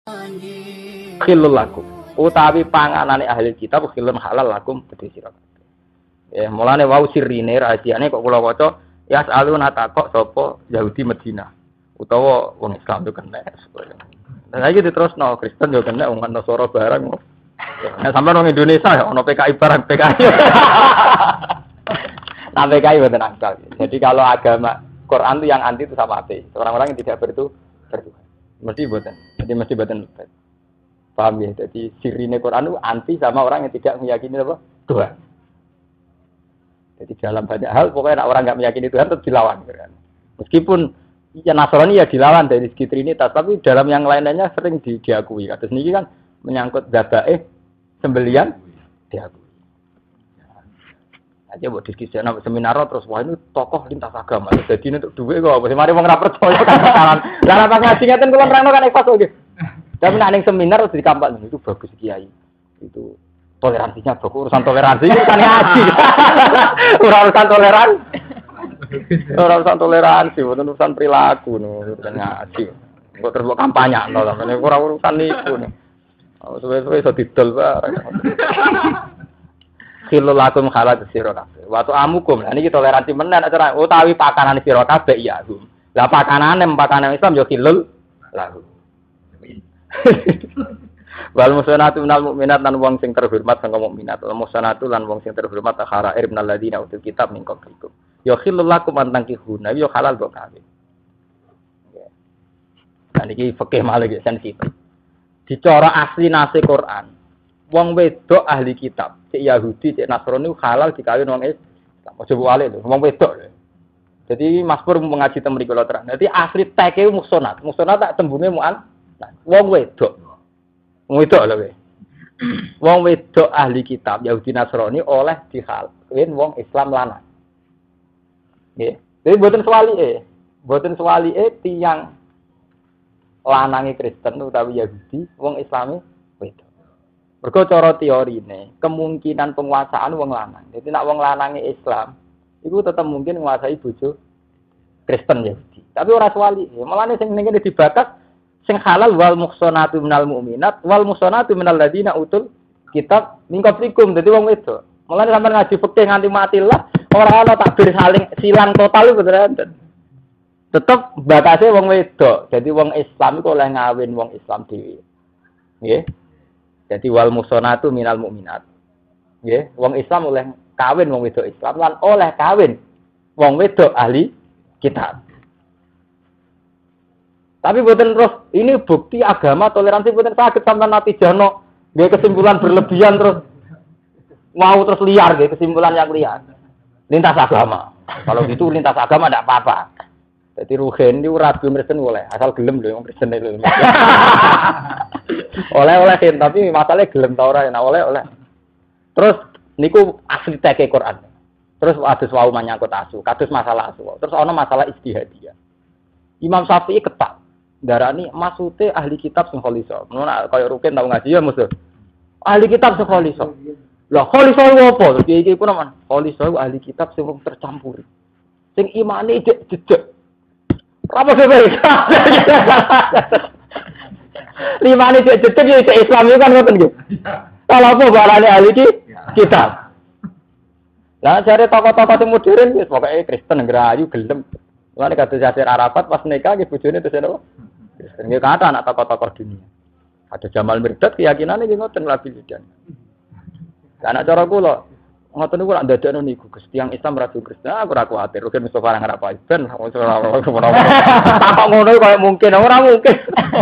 Khilul lakum. Utawi panganane ahli kitab khilun halal lakum kedhe sira kabeh. Ya, mulane wau sirine rahasiane kok kula waca ya aluna takok sapa Yahudi Madinah utawa wong Islam yo kena. Lah iki diterusno Kristen yo kena wong Nasara barang. Nah sampeyan wong Indonesia ya ono PKI barang PKI. Nah PKI mboten akal. Jadi kalau agama Quran itu yang anti itu sama ateis. Orang-orang yang tidak bertuhan. Mesti mboten. Jadi mesti mboten. Paham ya? Jadi sirine Quran itu anti sama orang yang tidak meyakini apa? Tuhan. Jadi dalam banyak hal pokoknya orang nggak meyakini Tuhan tetap dilawan. Kan? Meskipun ya Nasrani ya dilawan dari segi Trinitas, tapi dalam yang lain-lainnya sering diakui. Kados niki kan menyangkut dzabaih sembelian diakui. Aja buat diskusi anak seminar terus wah ini tokoh lintas agama. Jadi ini untuk duit kok. Mari wong ra percaya kan. Lah pas ngaji ngeten kula nerangno kan ikhlas nggih. Tapi nek ning seminar terus dikampal itu bagus kiai. Itu toleransinya bagus. Urusan toleransi itu kan ngaji. Urusan toleransi. Urusan toleransi, bukan urusan perilaku urusan ngaji. Kok terus kampanye no sampeyan ora urusan niku. Suwe-suwe iso didol bareng. Khilul lakum khalat sira kabeh. Waktu amukum. Lah niki toleransi menen acara utawi pakanane sira kabeh ya. Lah pakanane Islam yo khilul lakum. Wal musanatu minal mukminat lan wong sing terhormat sangka mukminat. Wal musanatu lan wong sing terhormat kharair minal ladina utul kitab min qablikum. Ya khilul lakum antangkihuna ya halal kok kawin. Nah niki fikih malih sensitif. Dicara asli nase Quran. Wong wedok ahli kitab, cek Yahudi, cek Nasrani halal dikawin wong Islam. Aja wale lho, wong wedok lho. Jadi Mas Pur mengaji teng mriku lho terang. Dadi asli teke musonat. Musonat tak tembunge mu'an. Wong wedok. Wong wedok lho kowe. Wong wedok ahli kitab Yahudi Nasrani oleh dikawin wong Islam lanang. Nggih. Jadi mboten swalike. Mboten swalike tiyang lanange Kristen utawi Yahudi, wong Islame wedok. Mergo cara teorine, kemungkinan penguasaan wong lanang. Jadi nek wong lanange Islam, iku tetep mungkin nguasai bojo Kristen Yahudi. Tapi ora swalike. Mulane sing ning kene dibatas sing halal wal muhsanatu minal mu'minat wal muhsanatu minal ladina utul kitab min qablikum. Dadi wong wedok. Mulane sampeyan ngaji fikih nganti mati lah, ora ana takbir saling silang total iku beneran. Tetep batase wong wedok. Jadi wong Islam iku oleh ngawin wong Islam dhewe. Nggih. Jadi wal muhsanatu minal mu'minat. Nggih, wong Islam oleh kawin wong wedok Islam lan oleh kawin wong wedok ahli kitab. Tapi boten terus ini bukti agama toleransi boten saged sampean natijano nggih kesimpulan berlebihan terus mau terus liar nggih kesimpulan yang liar. Lintas agama. Kalau gitu lintas agama ndak apa-apa. Jadi ruhen itu ragu Kristen boleh, asal gelem lho yang Kristen itu. Oleh kan, tapi masalahnya gelem ta ora, nah oleh. Terus niku asli teke Quran. Terus adus wau menyangkut asu, kados masalah asu. Terus ana masalah ijtihadiyah. Imam Syafi'i ketak darani maksude ahli kitab sing khalisa. Ngono kaya ruken tau ngaji ya musuh. Ahli kitab sing khalisa. Lah khalisa opo? Iki ku napa? Khalisa ahli kitab sing tercampur. Sing imane jejeg. Apa sih? Lima ini cek ya cek Islam itu kan ngoten nggih. Kalau apa barane ahli kitab. Lah jare tokoh-tokoh sing modern wis pokoke Kristen ngrayu gelem. Lan kados Yasir Arafat pas nikah nggih bojone terus napa? Kristen nggih kata anak tokoh-tokoh dunia. Ada Jamal Mirdad keyakinane nggih ngoten labil dan. Lah anak cara kula ngoten niku lak ndadekno niku Gusti yang Islam ra Kristen aku ora kuwatir rugen mesti barang ora apa ben tak ngono kaya mungkin ora mungkin.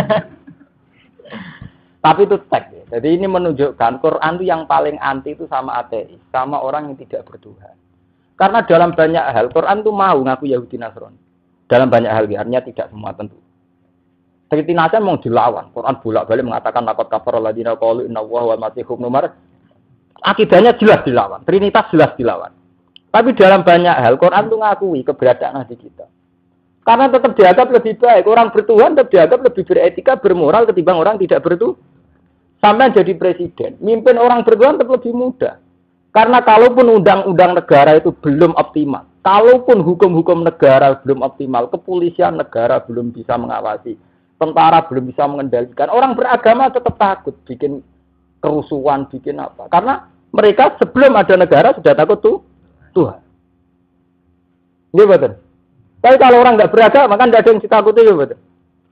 Tapi itu teks ya. Jadi ini menunjukkan Quran itu yang paling anti itu sama ateis, sama orang yang tidak bertuhan. Karena dalam banyak hal Quran itu mau ngaku Yahudi Nasrani. Dalam banyak hal artinya tidak semua tentu. Seperti Nasan mau dilawan. Quran bolak-balik mengatakan laqad kafara alladziina qalu innallaha wal masiih ibnu Maryam. Akidahnya jelas dilawan, Trinitas jelas dilawan. Tapi dalam banyak hal Quran itu ngakui keberadaan Nabi kita. Karena tetap dianggap lebih baik. Orang bertuhan tetap dianggap lebih beretika, bermoral ketimbang orang tidak bertuhan. Sampai jadi presiden, mimpin orang bertuhan tetap lebih mudah. Karena kalaupun undang-undang negara itu belum optimal, kalaupun hukum-hukum negara belum optimal, kepolisian negara belum bisa mengawasi, tentara belum bisa mengendalikan. Orang beragama tetap takut bikin kerusuhan, bikin apa. Karena mereka sebelum ada negara sudah takut Tuhan. Iya betul. Tapi kalau orang nggak beragama kan tidak ada yang ditakuti, ya betul.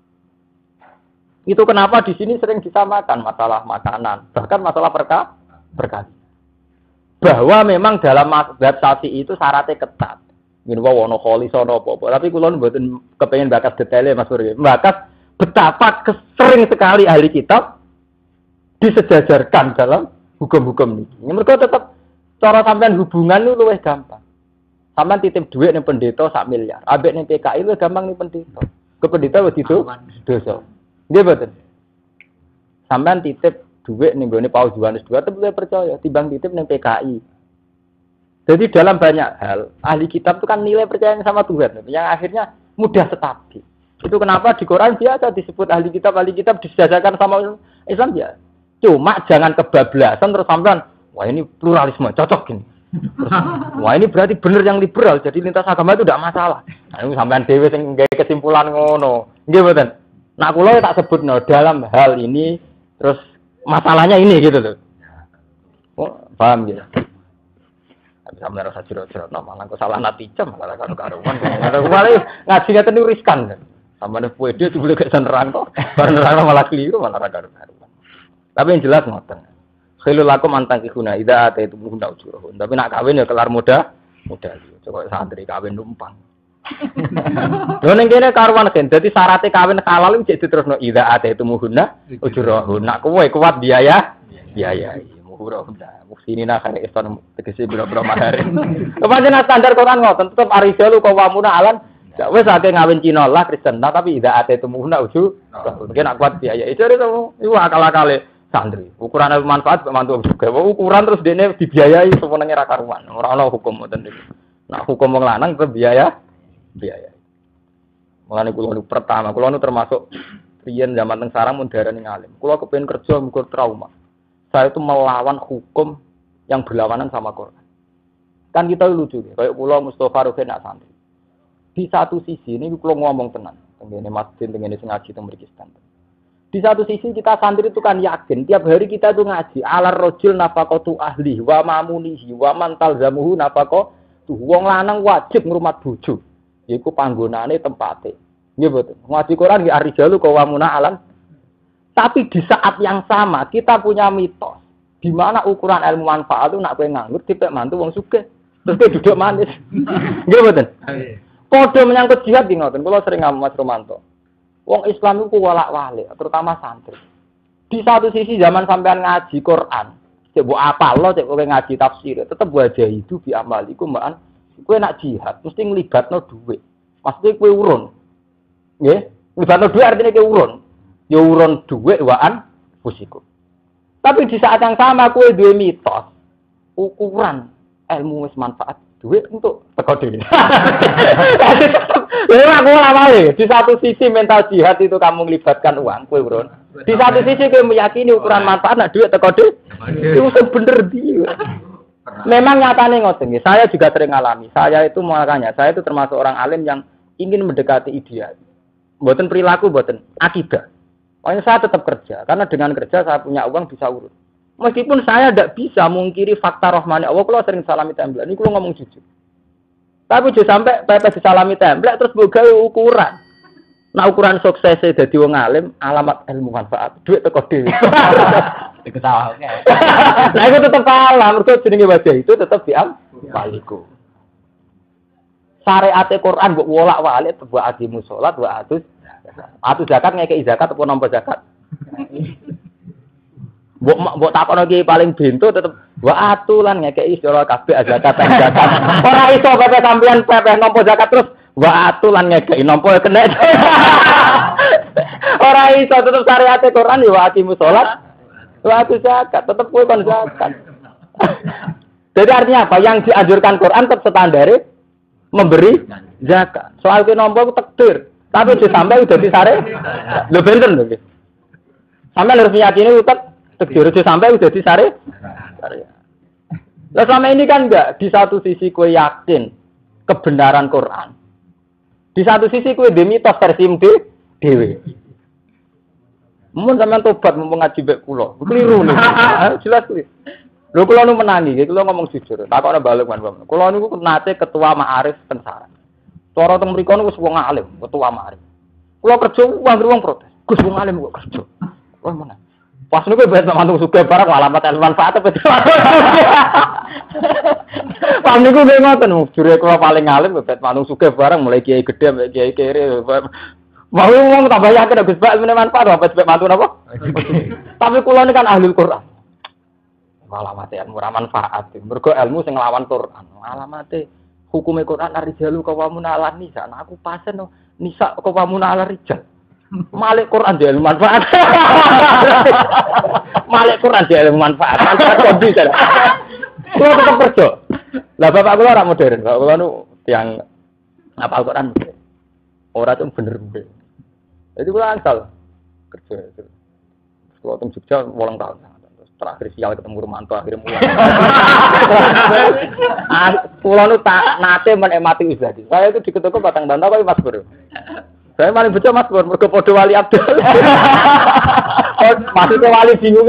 Itu kenapa di sini sering disamakan masalah makanan, bahkan masalah berkah. Bahwa memang dalam mazhab Syafi'i itu syaratnya ketat. Ngene wae ono kholi sono apa-apa. Tapi kula mboten kepengin bakas detailnya Mas Pur. Bakas betapa sering sekali ahli kitab disejajarkan dalam hukum-hukum ini. Mereka tetap cara sampean hubungan itu luwih gampang. Sampean titip duit ning pendeta 1 miliar. Ambek ning PKI luwih gampang ning pendeta. Ke pendeta wis dosa. Nggih mboten. Sampean titip duit ning gone Paus Yohanes II tetep luwih percaya timbang titip ning PKI. Jadi dalam banyak hal, ahli kitab itu kan nilai percaya sama Tuhan, yang akhirnya mudah stabil. Itu kenapa di Quran biasa disebut ahli kitab disejajarkan sama Islam ya. Cuma jangan kebablasan terus sampean, wah ini pluralisme, cocok gini. Terus, wah ini berarti benar yang liberal, jadi lintas agama itu tidak masalah. Nah, ini sampean dhewe sing gawe kesimpulan ngono. Nggih mboten. Nah kula tak sebutno dalam hal ini terus masalahnya ini gitu loh. Oh, paham gitu. Sampai rasa jerok-jerok, malah kok salah natijah, malah karu-karuan. Malah ngaji ngeten niku riskan. Sampai puede itu boleh gak nerang kok. Bar nerang malah keliru, malah karu-karuan. Tapi yang jelas ngoten. Khilul lakum antang kihuna idza ataitu hunda ujurahun. Tapi nak kawin ya kelar muda. Coba santri kawin numpang. Lho ning kene karuan kan. Dadi syaratnya kawin halal iki diterusno idza ataitu hunda ujurahun. Nak kowe kuat biaya. Ura-ura, muksini nak kare iston tegese biro-biro mahar. Kepancen standar Quran ngoten, tetep arijalu qawwamuna alan. Wis akeh ngawin Cina lah Kristen, tapi tidak ate temuna uju. Mungkin nak kuat biaya. Itu iku akal-akale santri. Ukuran manfaat mantu juga. Ukuran terus dene dibiayai semenenge ra karuan. Ora ana hukum ngoten niku. Nak hukum wong lanang ke biaya. Mulane kula pertama, kula termasuk riyen zaman teng sarang mun darani ngalim. Kula kepengin kerja mugo trauma. Saya itu melawan hukum yang berlawanan sama Quran. Kan kita lucu ya, kayak pulau Mustafa Rufin nak santri. Di satu sisi ini pulau ngomong tenang, tengene masjid, tengene ngaji, teng mriki standar. Di satu sisi kita santri itu kan yakin tiap hari kita itu ngaji alar rojul nafaqatu ahli wa mamunihi wa man talzamuhu nafaqatu. Wong lanang wajib ngrumat bojo. Yaiku panggonane tempate. Nggih mboten. Ngaji Quran nggih arijalu qawamuna alan. Tapi di saat yang sama kita punya mitos di mana ukuran ilmu manfaat itu nak kowe nganggur dipek mantu wong sugih. Terus kowe duduk manis. Nggih mboten? Padha menyangkut jihad nggih ngoten. Kula sering ngomong Mas Romanto. Wong Islam iku wolak-walik, terutama santri. Di satu sisi zaman sampean ngaji Quran, cek mbok apalno cek kowe ngaji tafsir, tetep wajah itu bi amaliku mbaan. Kowe nak jihad mesti nglibatno dhuwit. Maksudnya kowe urun. Nggih? Nglibatno dhuwit artinya kowe urun. Ya urun dhuwit waan fusiku. Tapi di saat yang sama kowe duwe mitos ukuran ilmu wis manfaat dhuwit untuk teko dhewe. Lha aku awale di satu sisi mental jihad itu kamu melibatkan uang kowe urun. Di satu sisi kowe meyakini ukuran manfaat nek dhuwit teko dhewe. Itu bener dia. Memang nyatane ngoten nggih. Saya juga sering ngalami. Saya itu makanya saya itu termasuk orang alim yang ingin mendekati ideal. Mboten perilaku, mboten akidah. Makanya saya tetap kerja, karena dengan kerja saya punya uang bisa urus. Meskipun saya tidak bisa mungkiri fakta rahmani Allah, kalau sering salami template, ini kalau ngomong jujur. Tapi juga sampai pepes disalami template, terus buka ukuran. Nah ukuran suksesnya jadi wong alim, alamat ilmu manfaat, duit teko dhewe. Diketawakan. Nah itu tetap kalah, mergo jenenge wajah itu tetap baliku. Syariat Quran mbok wolak-walik buat agimu salat, buat atus zakat ngekei zakat apa nampa zakat. Mbok takono iki paling bento tetep wa atulan ngekei sira kabeh zakat. Ora iso pepe sampean pepe nampa zakat terus wa atulan ngekei nampa kena. Ora iso tetep syariat Quran ya wa aqimu salat wa atus zakat tetep kowe kon zakat. Jadi artinya apa? Yang dianjurkan Quran tetap standare memberi zakat. Soal kowe nampa ku takdir. Tapi sampai udah disare, lo bener loh. Sampai harus meyakini utak, tegir sampai udah disare. Nah selama ini kan enggak. Di satu sisi kue yakin kebenaran Quran. Di satu sisi kue demitos versi dewi. Mun sampean tobat mumpung ngaji mbek kula. Keliru niku. Jelas kuwi. Lho kula nu menangi, kula ngomong jujur. Takokne balik man. Kula niku nate ketua Ma'arif Pensara. Cara teng mriku niku wis wong alim, ketua Ma'arif. Kula kerja wong protes. Gus wong alim kok kerja. Wah mana? Pas niku bet mantung sugih barang alamat manfaat apa. Pam niku nggih ngoten, jure kula paling alim bet mantung sugih barang mulai kiai gedhe sampai kiai kere. Mau ngomong tambah yakin Gus Bak meneh manfaat apa sebab mantu napa? Tapi kula ini kan ahli Quran. Alamate murah manfaat. Mergo ilmu sing nglawan Quran. Alamate hukume Quran ar-rijalu qawamun 'alan nisa. Aku pasen nisa qawamun 'ala rijal. Malik Quran dia ilmu manfaat. Malik Quran dia ilmu manfaat. Manfaat kondi kan. Kulo tetep kerja. Lah bapak kula ora modern. Bapak kula nu tiyang hafal Quran. Ora tuh bener. Jadi kula asal kerja. Kulo teng Jogja 8 tahun. Terakhir sial ketemu Romanto akhirnya mulai. Kulo nu tak nate menikmati usaha. Saya itu diketuku Batang Bantau kok Mas Bro. Saya paling betul Mas Bro, mergo padha Wali Abdul. Maksudnya wali bingung.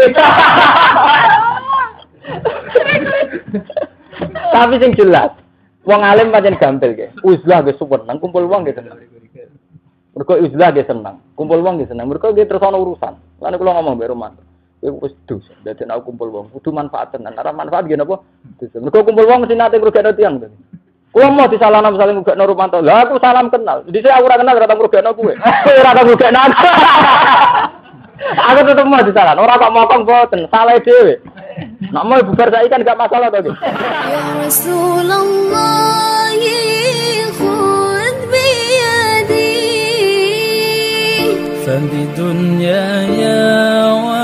Tapi sing jelas, wong alim pancen gampil ge. Uzlah ge seneng, kumpul wong ge seneng. Mergo uzlah ge seneng, kumpul wong ge seneng. Mergo ge terus ana urusan. Lan kula ngomong mbek Romanto. Wis dus, dadi nek kumpul wong kudu manfaat tenan. Ora manfaat ge napa? Mergo kumpul wong mesti nate ngrugekno tiyang. Kulo mau disalahno misalnya ngrugekno Romanto. Lah aku salam kenal. Dhisik aku ora kenal ora tau ngrugekno kowe. Kowe ora tau ngrugekno aku. Aku tetep mau disalahno. Ora kok mokong boten, salah dhewe. Nek mau bubar saiki kan gak masalah to. Ya Rasulullah khud bi yadi. Fa di dunya ya